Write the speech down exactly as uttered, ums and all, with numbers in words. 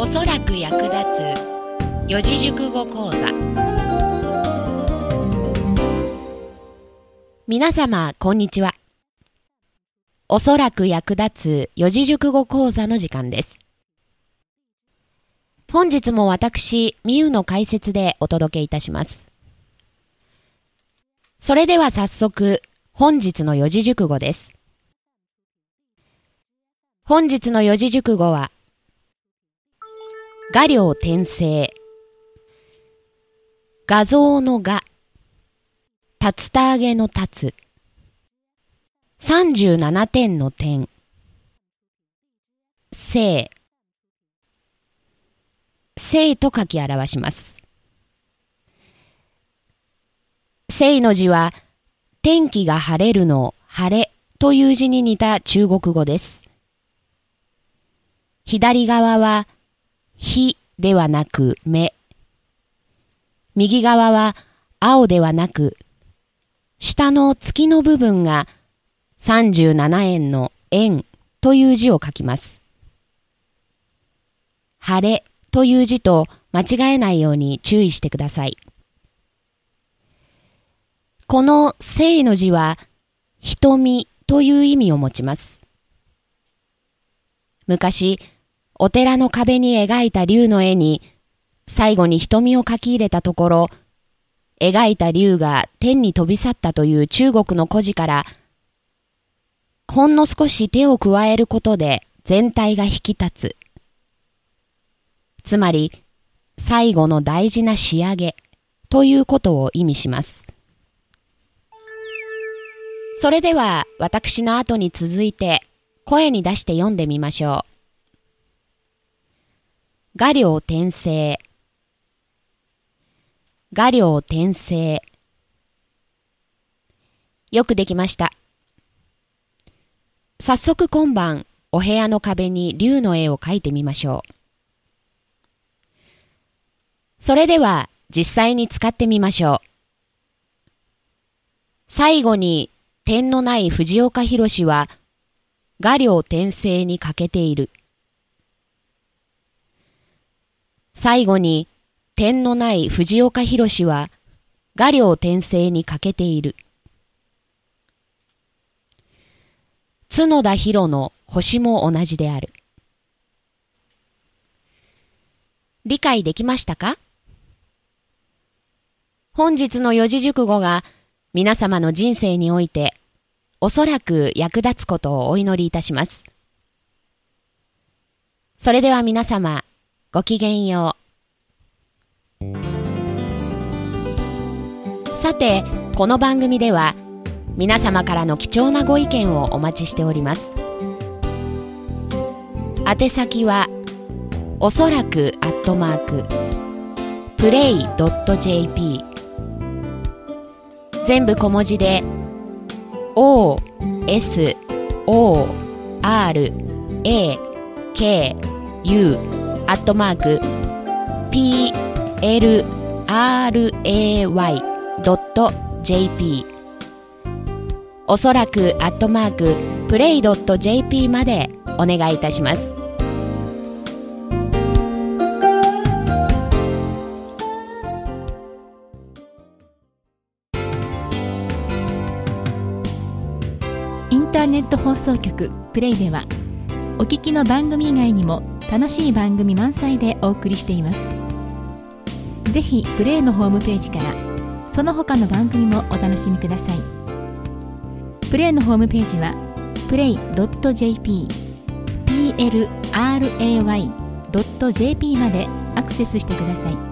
おそらく役立つ四字熟語講座。皆様こんにちは。おそらく役立つ四字熟語講座の時間です。本日も私みゆの解説でお届けいたします。それでは早速本日の四字熟語です。本日の四字熟語は画量転生、画像の画、竜田揚げの竜、さんじゅうななてんの点、生、生と書き表します。生の字は天気が晴れるの晴れという字に似た中国語です。左側は日ではなく目、右側は青ではなく、下の月の部分がさんじゅうななえんの円という字を書きます。晴れという字と間違えないように注意してください。この生の字は瞳という意味を持ちます。昔、お寺の壁に描いた龍の絵に最後に瞳を描き入れたところ、描いた龍が天に飛び去ったという中国の故事から、ほんの少し手を加えることで全体が引き立つ。つまり、最後の大事な仕上げということを意味します。それでは私の後に続いて声に出して読んでみましょう。画量転生、画量転生。よくできました。早速今晩お部屋の壁に龍の絵を描いてみましょう。それでは実際に使ってみましょう。最後に点のない藤岡弘は画量転生に欠けている。最後に点のない藤岡弘は画量転生に欠けている。角田博の星も同じである。理解できましたか？本日の四字熟語が皆様の人生においておそらく役立つことをお祈りいたします。それでは皆様、ごきげんよう。さて、この番組では皆様からの貴重なご意見をお待ちしております。宛先はおそらくアットマークプレイドットジェーピー、全部小文字で オーエスオーアールエーケーユー アットマーク ピーエルアールエーワイ ドット ジェーピー、 おそらくアットマークプレイドット ジェーピー までお願いいたします。 インターネット放送局プレイではお聞きの番組以外にも楽しい番組満載でお送りしています。ぜひプレイのホームページからその他の番組もお楽しみください。プレイのホームページは プレイドットジェーピー、ピーエルアールエーワイ ドットジェーピー までアクセスしてください。